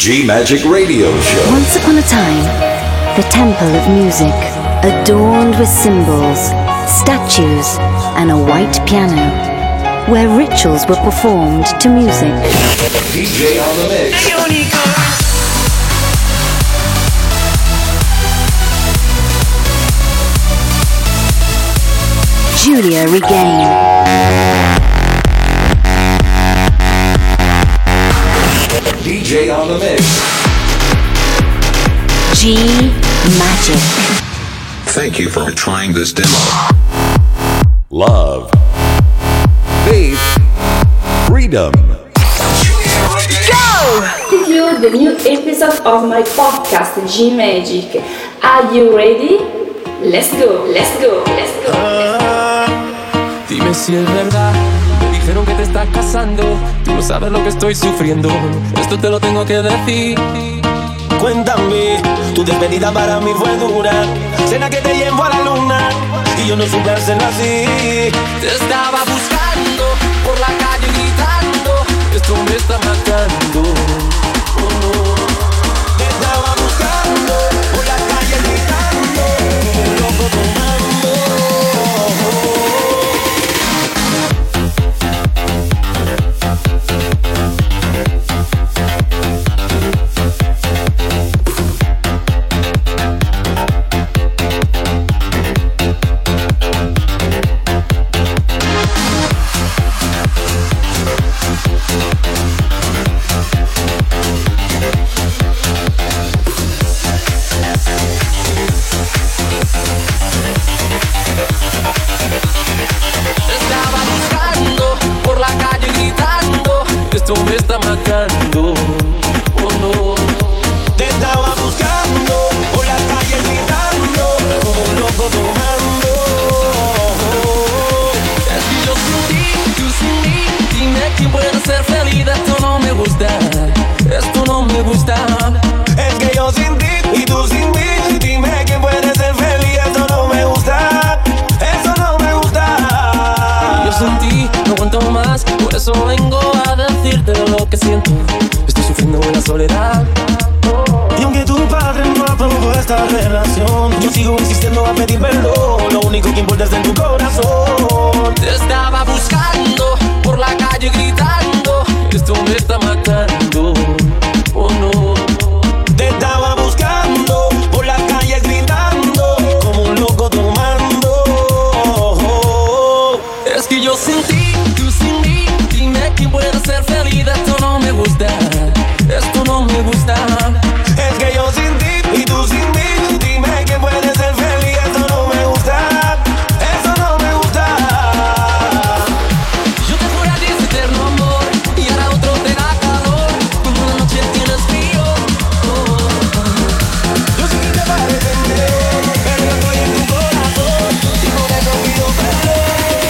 G Magic Radio Show. Once upon a time, the temple of music, adorned with symbols, statues, and a white piano, where rituals were performed to music. DJ on the mix. Giulia Regain. DJ on the mix. G Magic. Thank you for trying this demo. Love. Faith. Freedom. Conclude the new episode of my podcast G Magic. Are you ready? Let's go, let's go, let's go. Dime si es verdad. Me dijeron que te estás casando. Tú no sabes lo que estoy sufriendo. Esto te lo tengo que decir. Cuéntame, tu despedida para mí fue dura. Cena que te llevo a la luna y yo no supe hacerlo así. Te estaba buscando por la calle gritando. Esto me está matando. Oh, no. Te estaba buscando por la calle gritando. Un loco tomando. Esto me está matando, oh no. Te estaba buscando por la calle gritando, como un loco tomando. Es que yo sin ti, tú sin mí. Dime quién puede ser feliz. Esto no me gusta, esto no me gusta. Es que yo sin ti y tú sin mí. Dime quién puede ser feliz. Esto no me gusta, eso no me gusta. Yo sin ti no aguanto más. Por eso vengo a decirte lo que siento. Estoy sufriendo en la soledad. Y aunque tu padre no aprobó esta relación, yo sigo insistiendo a pedir perdón. Lo único que importa es en tu corazón. Te estaba buscando por la calle gritando. Esto me está matando, oh no. Te estaba buscando por la calle gritando, como un loco tomando. Es que yo sin ti, tú sin mí. Dime quién puede ser feliz. Esto no me gusta, esto no me gusta. Es que yo sin ti y tú sin mí. Dime quién puede ser feliz. Esto no me gusta, eso no me gusta. Yo te juro a ti ese eterno amor y ahora otro te da calor cuando la noche tienes frío. Yo sé que te parece feo, pero yo estoy en tu corazón y por eso pido perdón.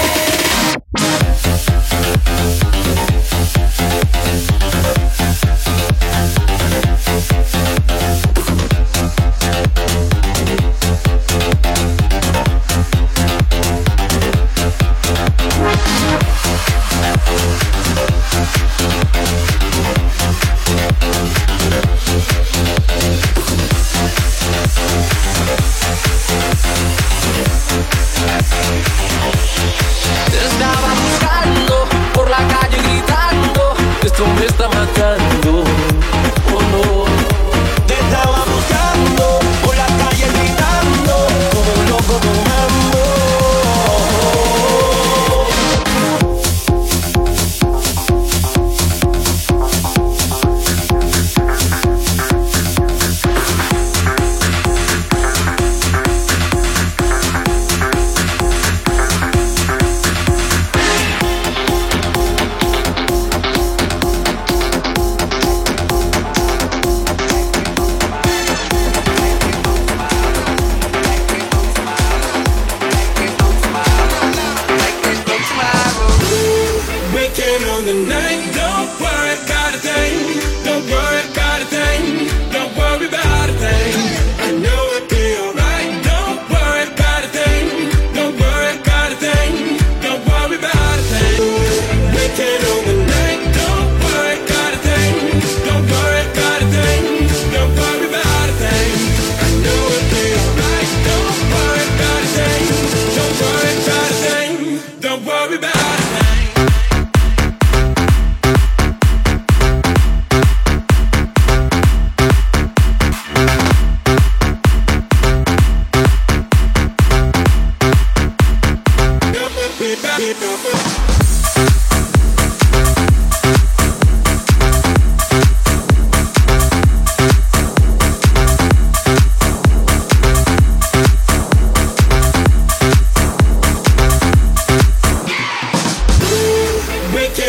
Te estaba buscando por la calle gritando. Esto me está matando, oh no. Te estaba buscando por la calle gritando, como un loco tomando. Waking on the night, don't worry about a thing. Don't worry about a thing. Don't worry about a thing. I know it'll be alright. Don't worry about a thing. Don't worry about a thing. Don't worry about a thing. Waking on the night, don't worry about a thing. Don't worry about a thing.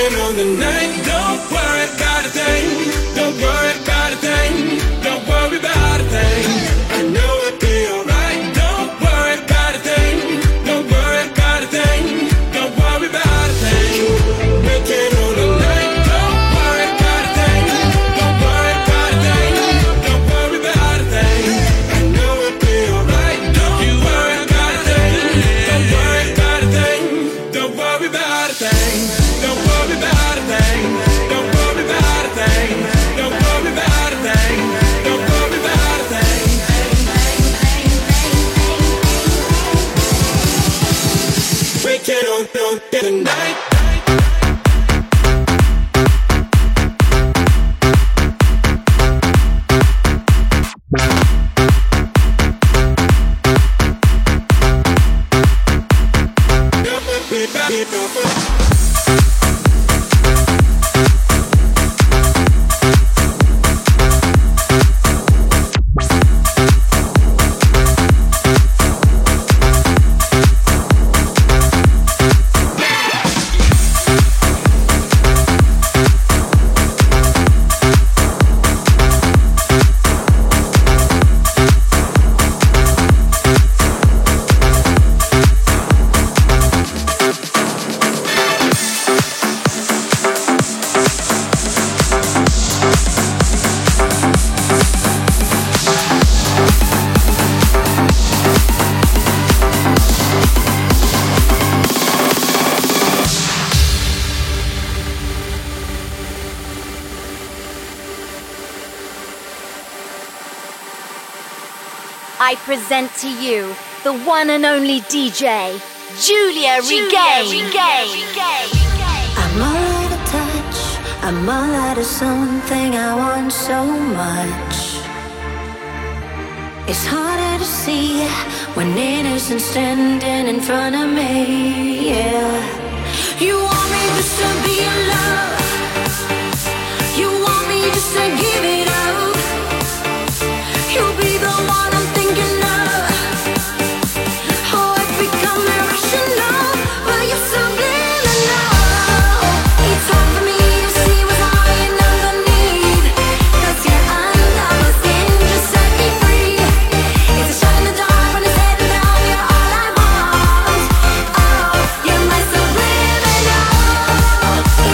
Breaking on the night. Don't worry about a thing. Don't worry about a thing. Don't worry about a thing. I know it'll be alright. Don't worry about a thing. Don't worry about a thing. Don't worry about a thing. Breaking on the night. Don't worry about a thing. Don't worry about a thing. Don't worry about a thing. I know it'll be alright. Don't you worry about a thing. Don't worry about a thing. Don't worry about a thing. Don't worry about a thing. Don't worry about a thing. Don't worry about a thing. Don't worry about a thing. We can on the night. I present to you the one and only DJ, Giulia Regain. I'm all out of touch, I'm all out of something I want so much. It's harder to see when innocence standing in front of me, yeah. You want me just to be in love, you want me just to give it up. You'll be the one I'm thinking of. Oh, I've become irrational, but you're subliminal. It's hard for me to see what's lying underneath. 'Cause you're under my skin, just set me free. It's a shot in the dark when it's heading down. You're all I want. Oh, you're my subliminal.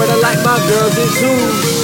but I like my girls in twos.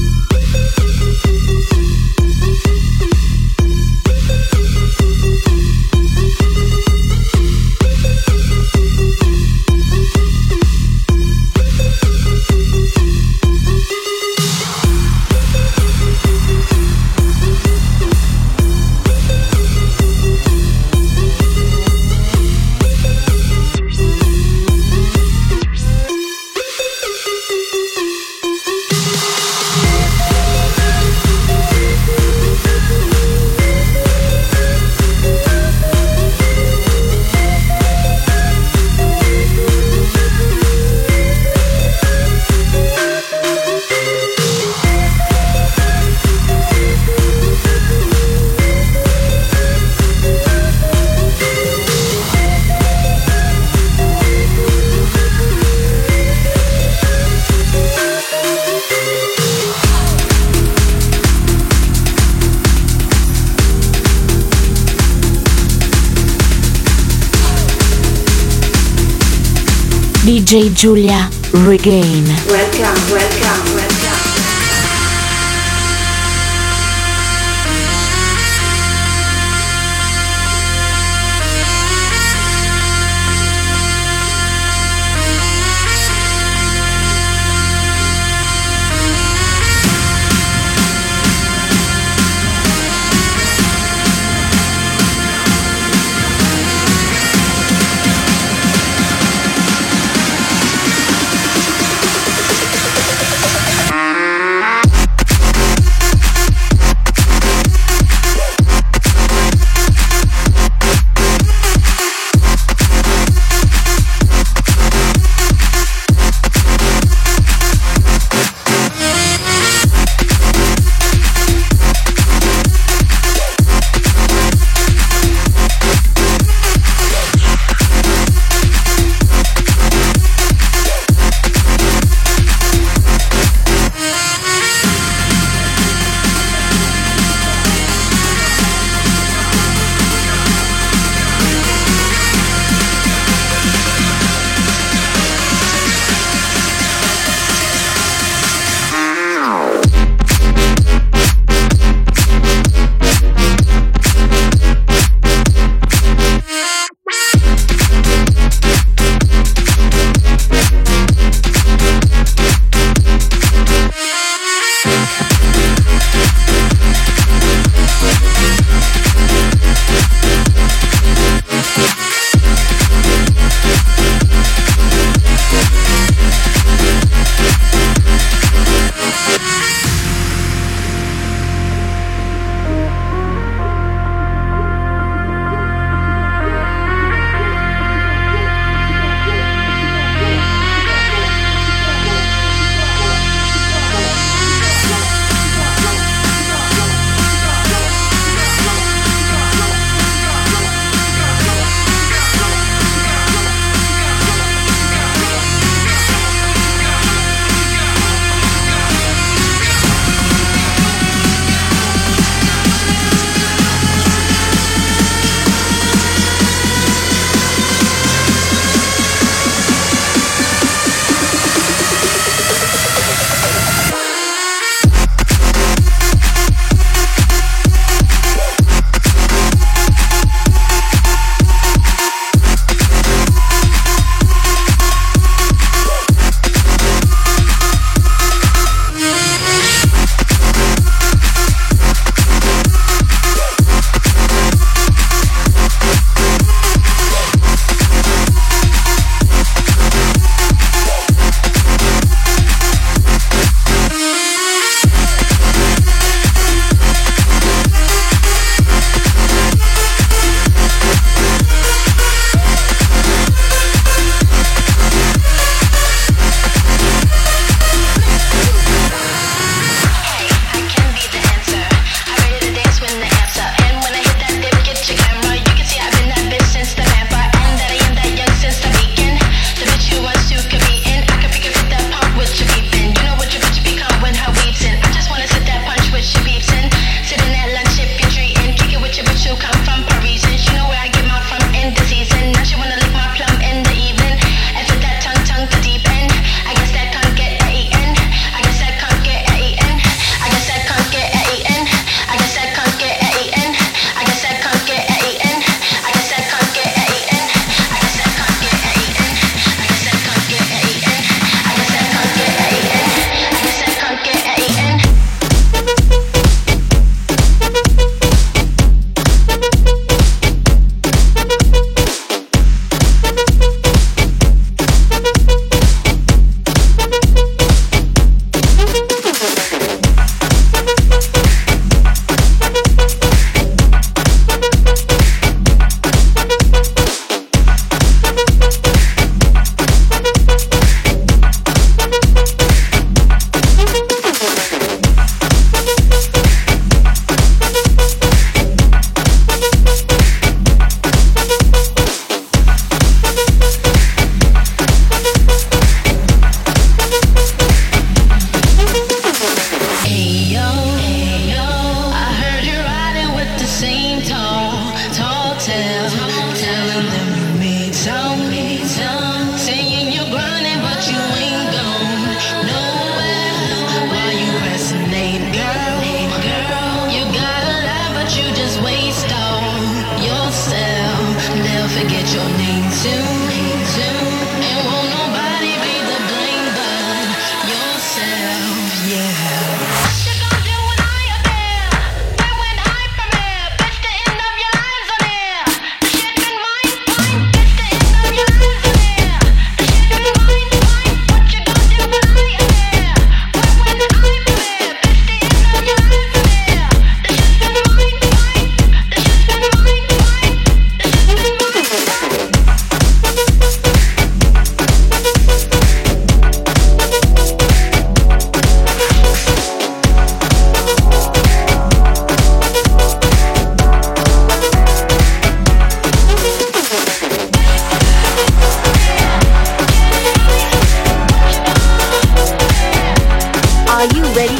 DJ Giulia Regain. Welcome, welcome, welcome.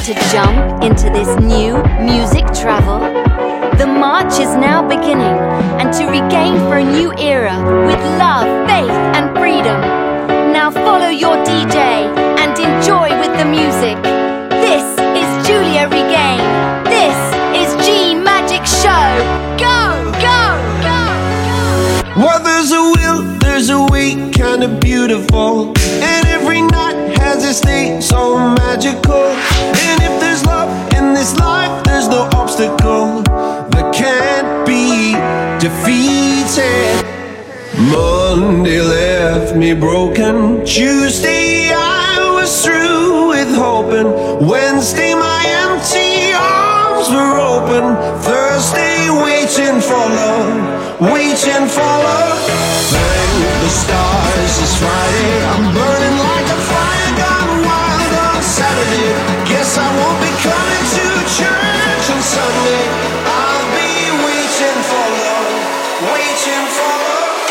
to jump into this new music travel? The march is now beginning, and to regain for a new era with love, faith, and freedom. Now follow your DJ and enjoy with the music. This is Julia Regain. This is G Magic Show. Go, go, go, go. Well, there's a will, there's a way, kinda beautiful. And every night has its day so magical. And if there's love in this life, there's no obstacle that can't be defeated. Monday left me broken. Tuesday I was through with hoping. Wednesday my empty arms were open. Thursday waiting for love, waiting for love. Thank the stars it's Friday. I'm burning like a fire gone wild on Saturday. Guess I won't be coming to church on Sunday. I'll be waiting for love, waiting for love.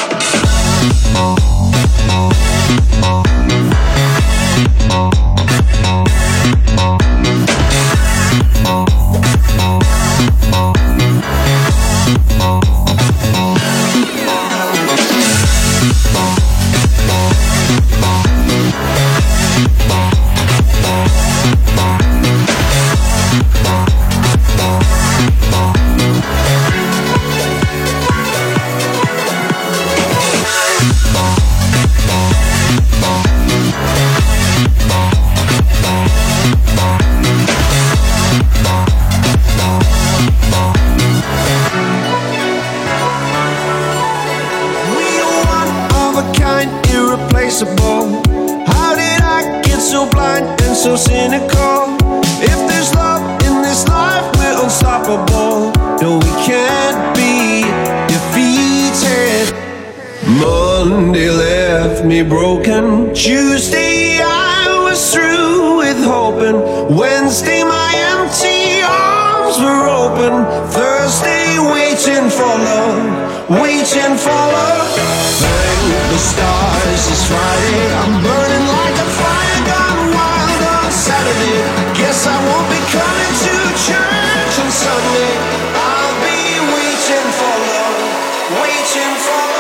How did I get so blind and so cynical? If there's love in this life, we're unstoppable. No, we can't be defeated. Monday left me broken. Tuesday I was through with hoping. Wednesday my empty arms were open. Thursday waiting for love, waiting for love. Thank the stars it's Friday. I'm burning like a fire gone wild on Saturday. Guess I won't be coming to church on Sunday. I'll be waiting for love, waiting for love.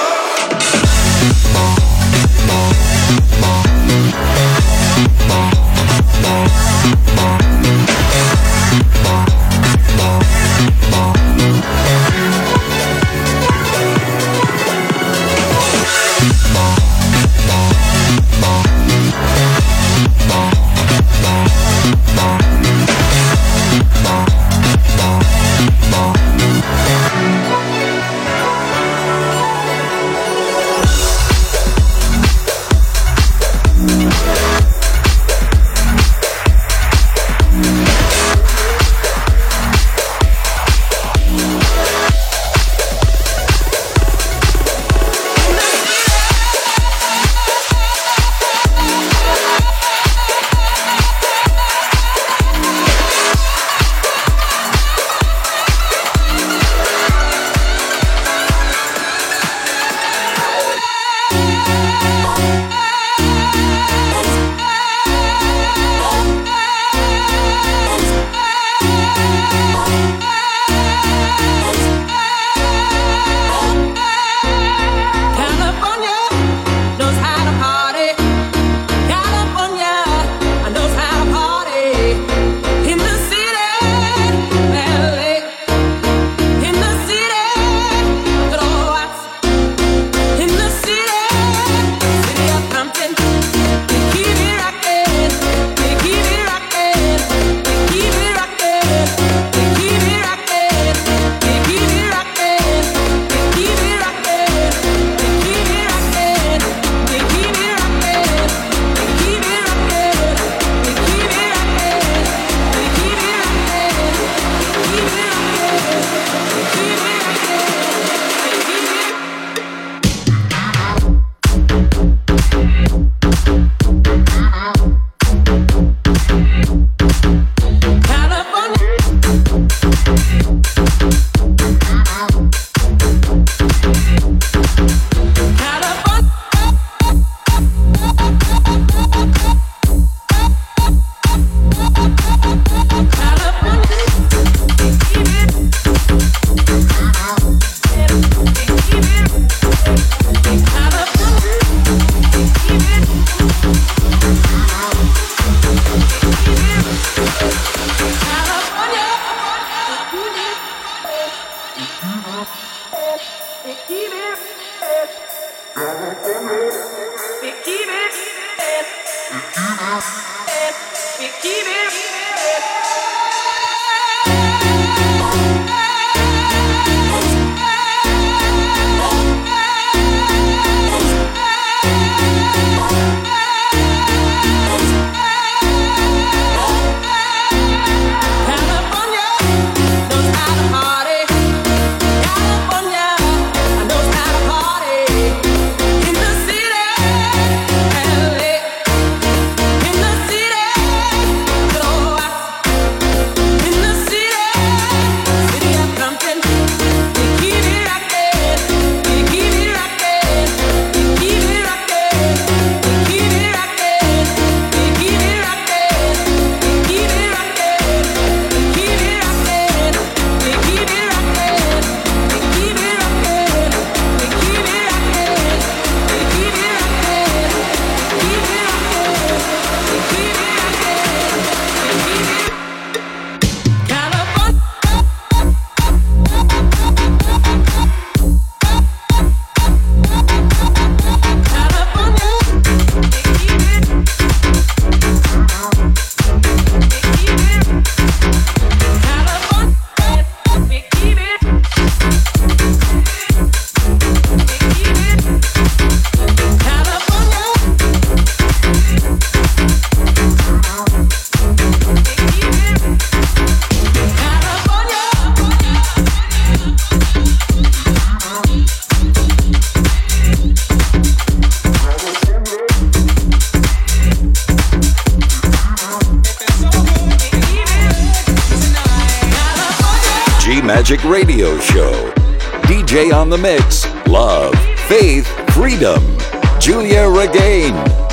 Magic Radio Show. DJ on the mix. Love, faith, freedom. Julia Regain.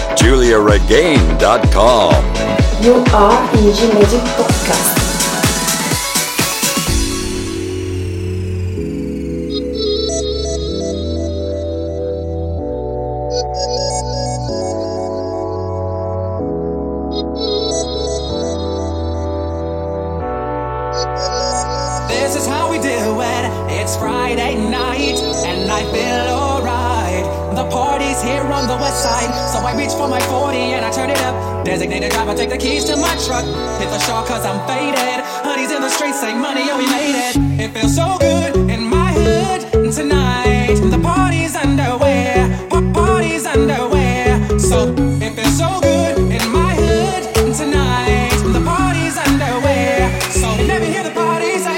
JuliaRegain.com. You are in G Magic Podcast. This is how we do it. It's Friday night and I feel alright. The party's here on the west side, so I reach for my 40 and I turn it up. Designated driver, take the keys to my truck. Hit the shore cause I'm faded. Honey's in the streets, say money, oh we made it. It feels so good in my hood tonight. The party's underway, party's underway. So it feels so good in my hood tonight. The party's underway. So let me hear the party say.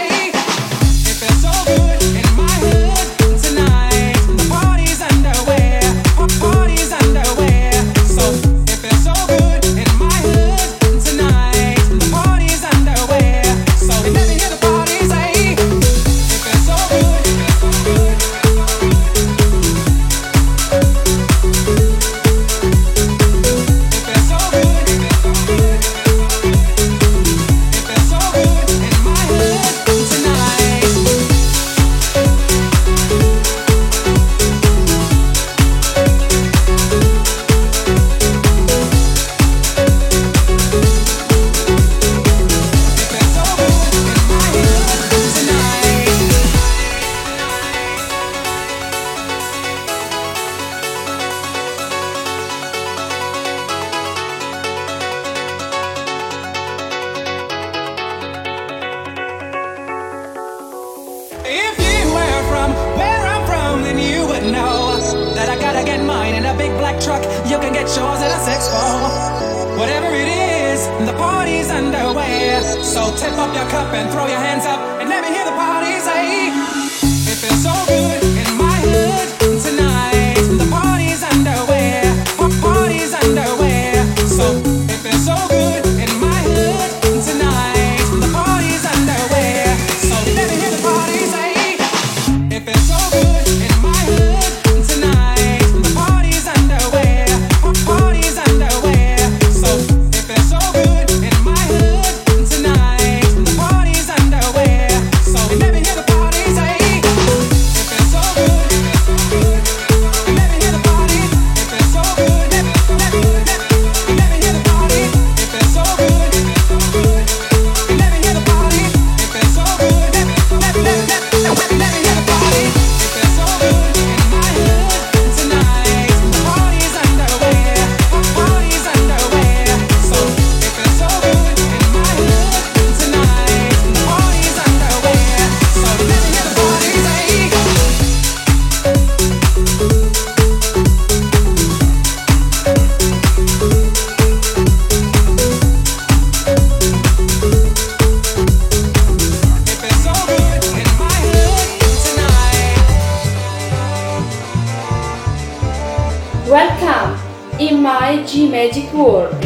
Welcome in my G Magic world.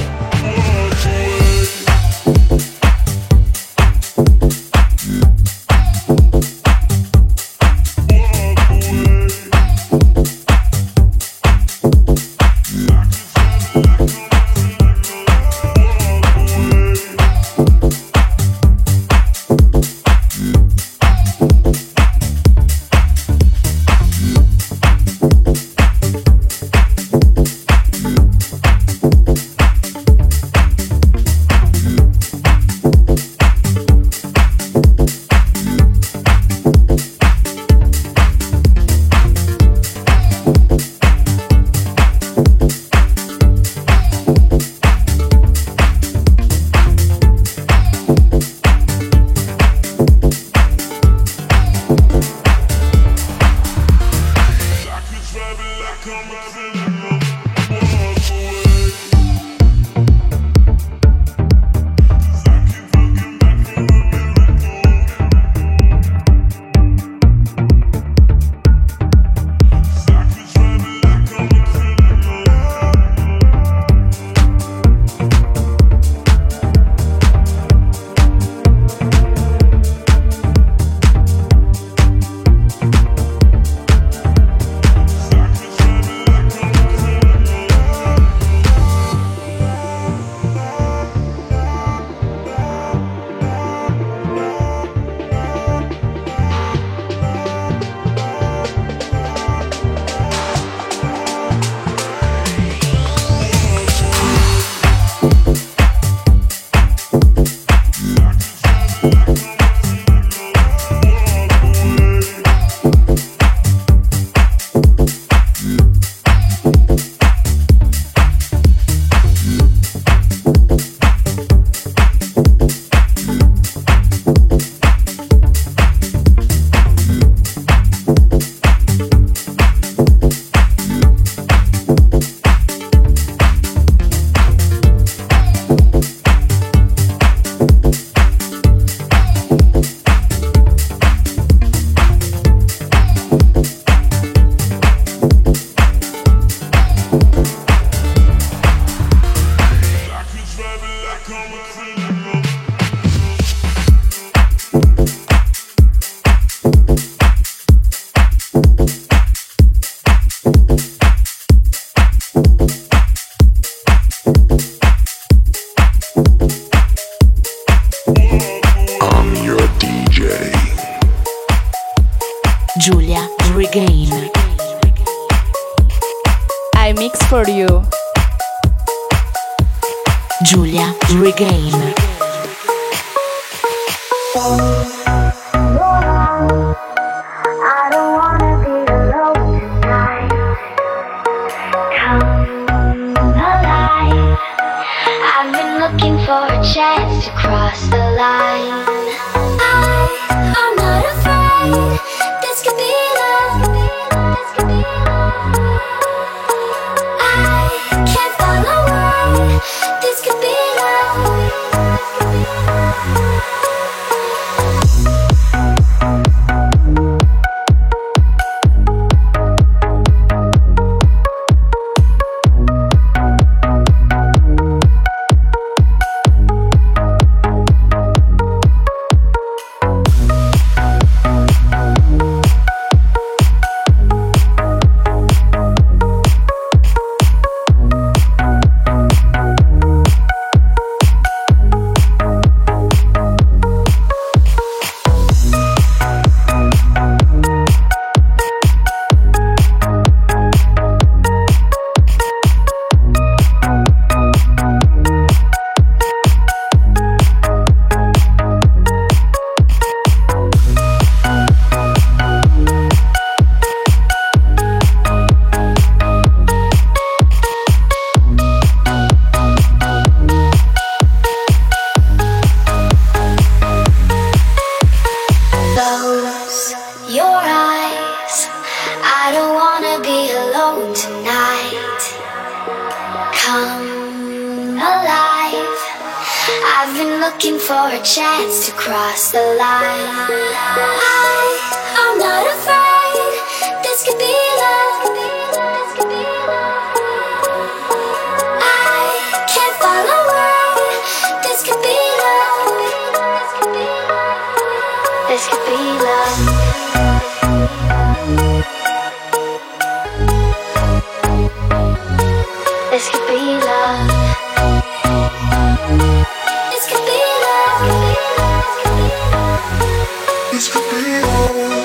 Giulia Regain. I mix for you. Giulia Regain. I don't wanna be alone tonight. Come alive. I've been looking for a chance to cross the line. I'm not afraid. This could be love. I can't fall away. This could be love. Looking for a chance to cross the line. I'm not afraid. This could be love. This could be love. This could be love. This could be love.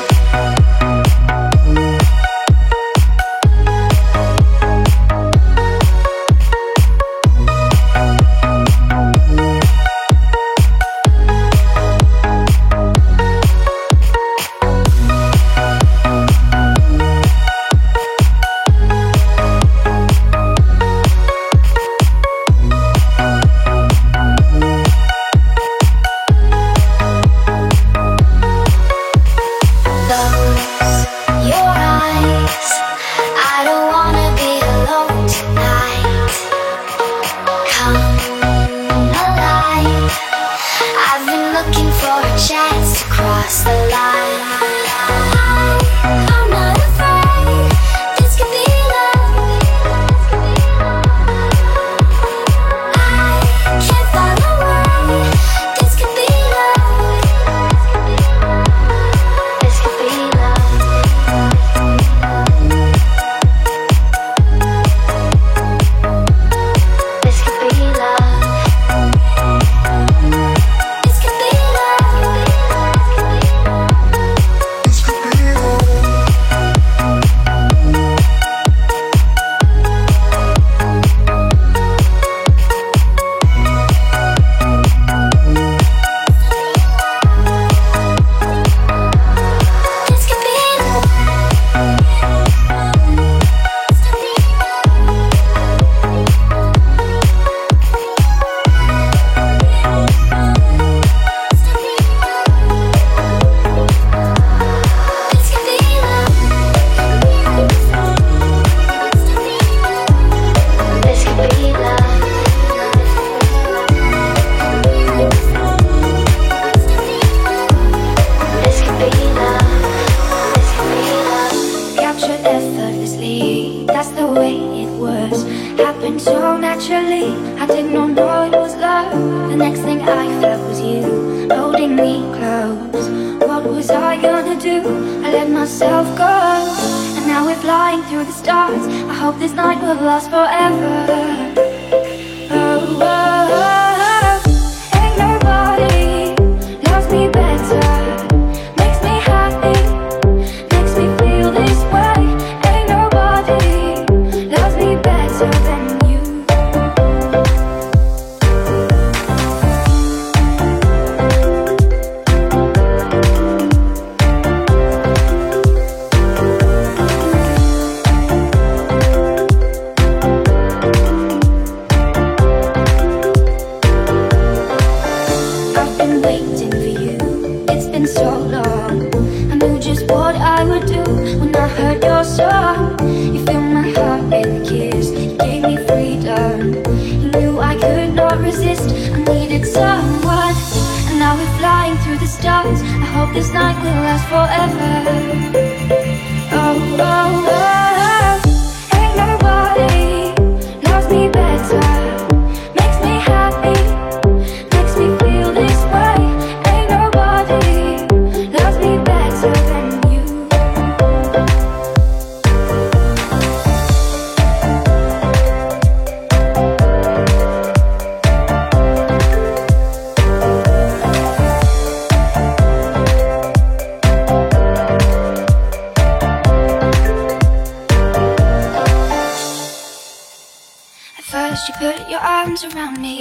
Around me,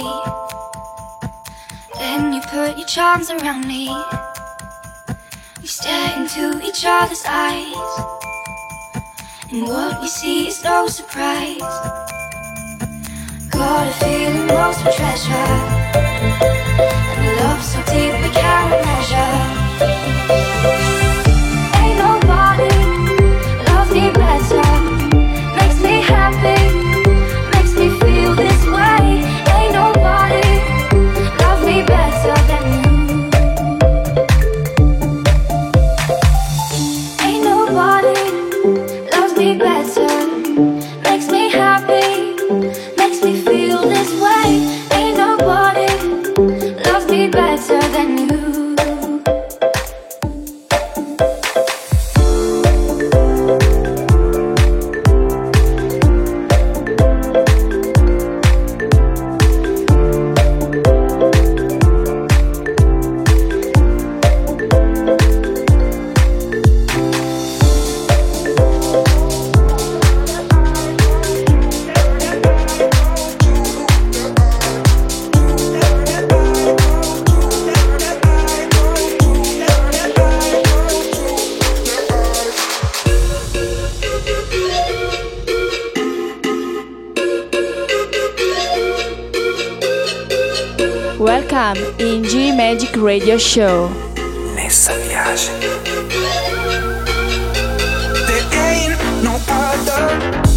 then you put your charms around me. We stare into each other's eyes, and what we see is no surprise. Got a feeling lost for treasure, and a love so deep we can't measure. Ain't nobody loves me better, makes me happy, makes me feel this way. Ain't nobody loves me better than you. Ain't nobody loves me better, makes me happy, makes me feel this way. Ain't nobody loves me better than you. Welcome in G Magic Radio Show. Nessa viagem. There ain't no other.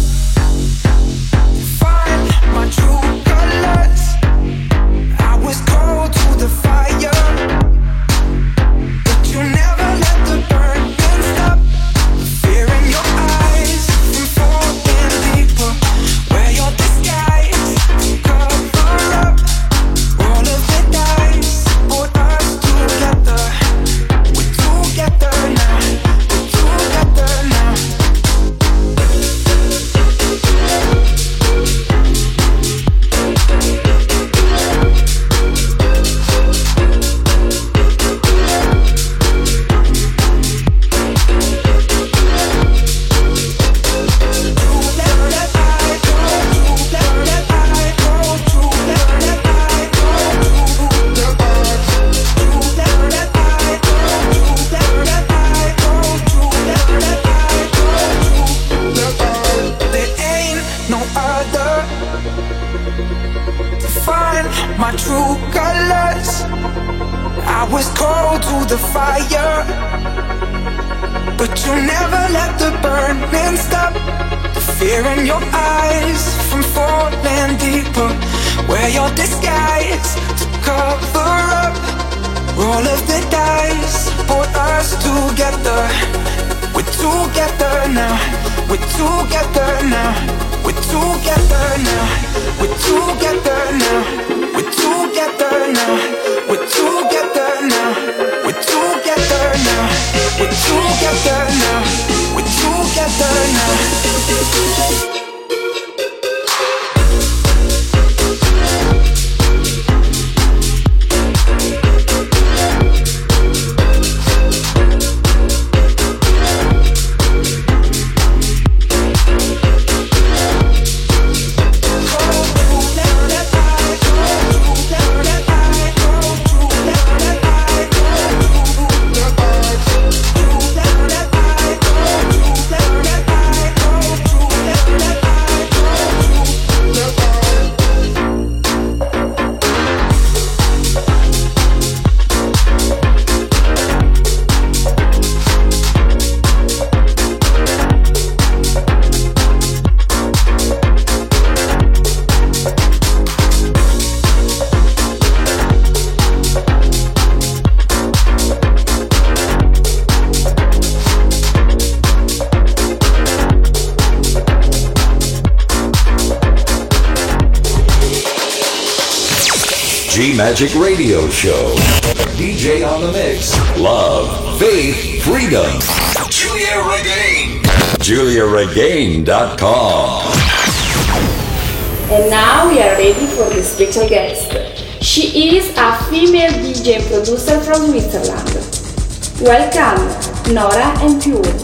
Find my true colors. I was cold to the fire, but you never let the burning stop. Fear in your eyes from falling deeper. Wear your disguise, cover up. Roll of the dice, put us together. We're together now. We're together now. My true colors. I was cold to the fire, but you never let the burning stop. The fear in your eyes from falling deeper. Wear your disguise to cover up. Roll of the dice, put us together. We're together now. We're together now. We're together now. We're together now. We're together now. We're together now. We're together now. We're together now. We're together now. G Magic Radio Show. DJ on the mix. Love, faith, freedom. Julia Regain. JuliaRegain.com. And now we are ready for the special guest. She is a female DJ and producer from Switzerland. Welcome, Nora En Pure.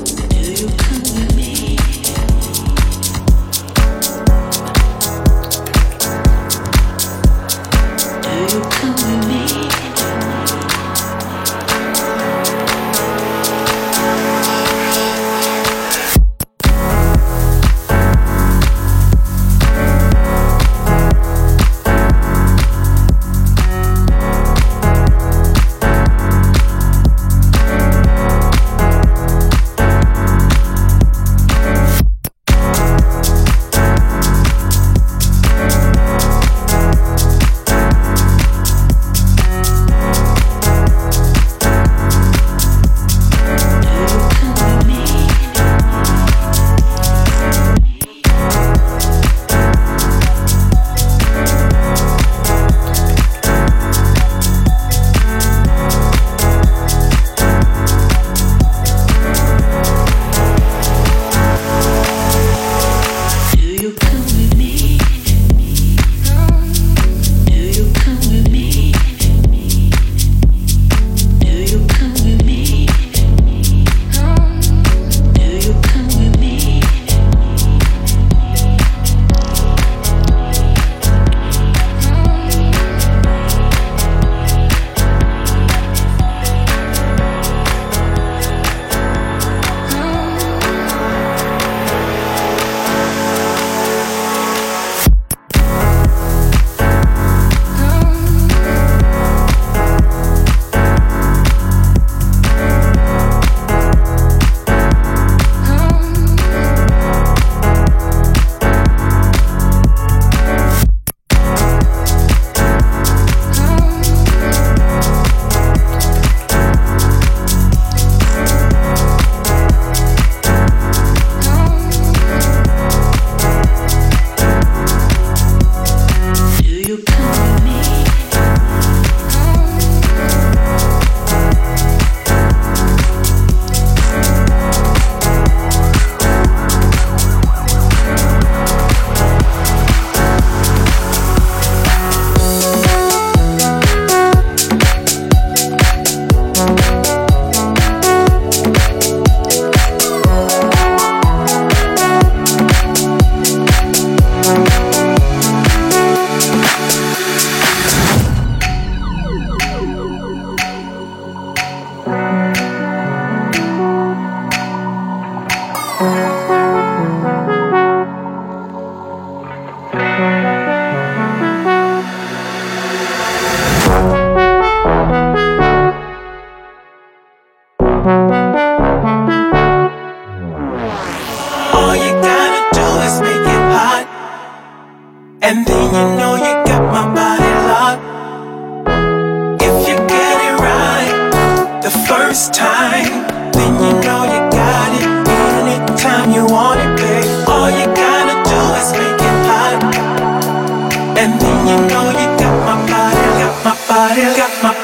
And then you know you got my body locked. If you get it right the first time, then you know you got it. Anytime you want it, babe, all you gotta do is make it hot. And then you know you got my body, got my body, got my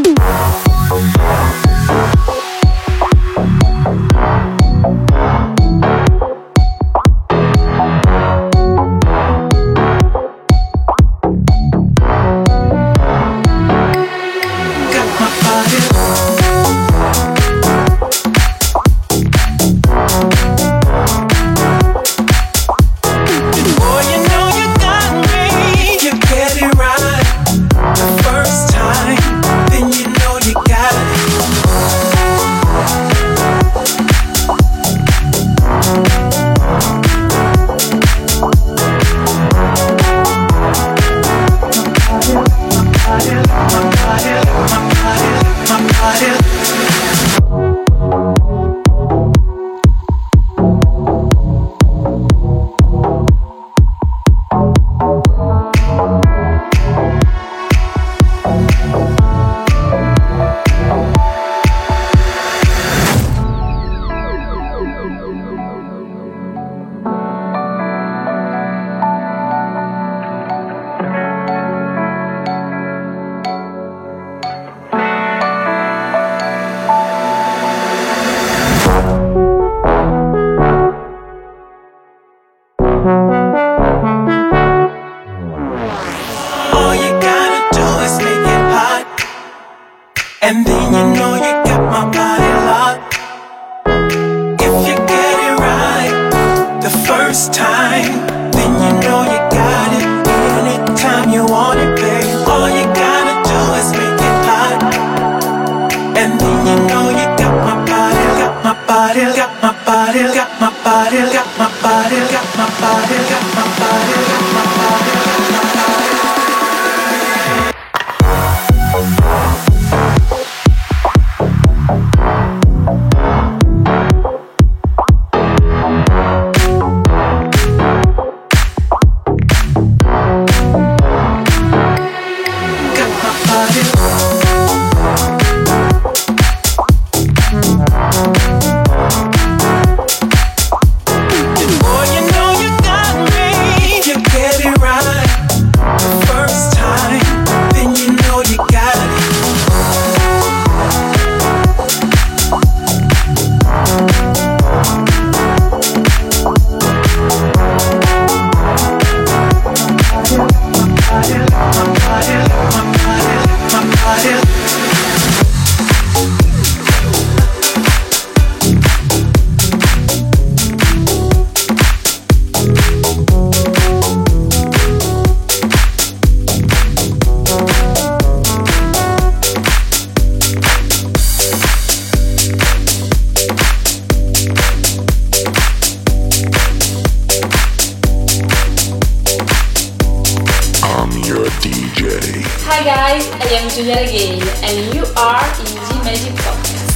Julia Regain, and you are in G Magic Podcast.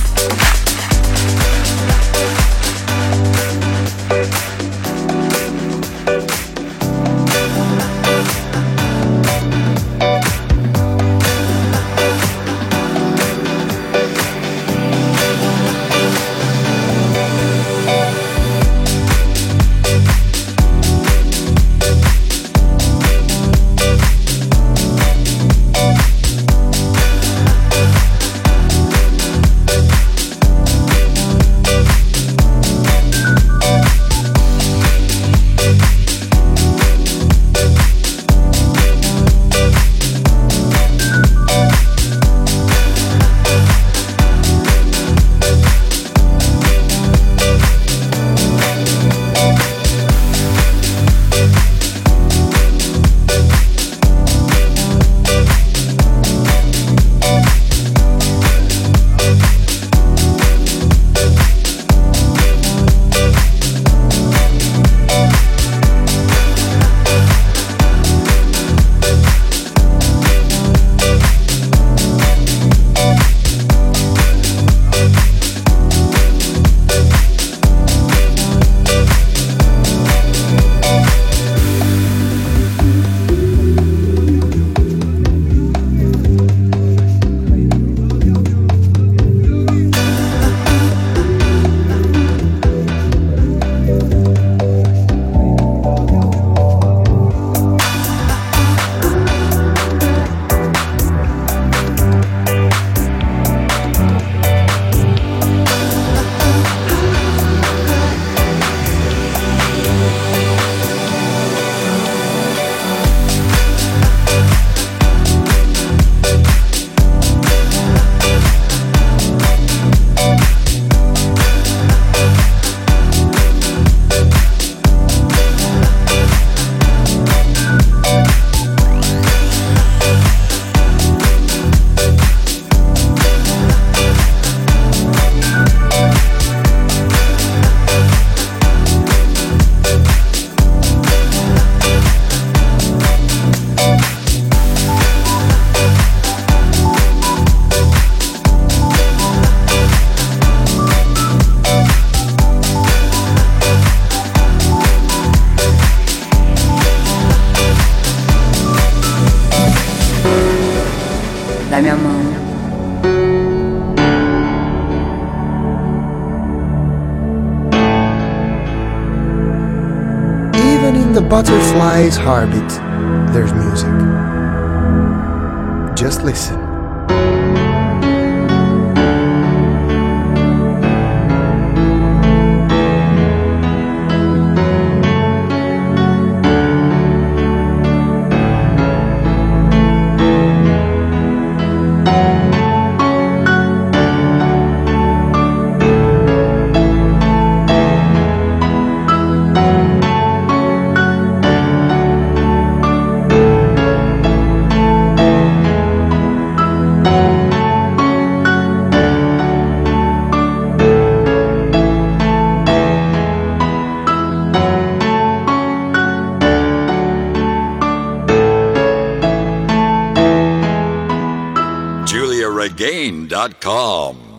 mi amor. Even in the butterfly's heartbeat, there's music. Just listen. JuliaRegain.com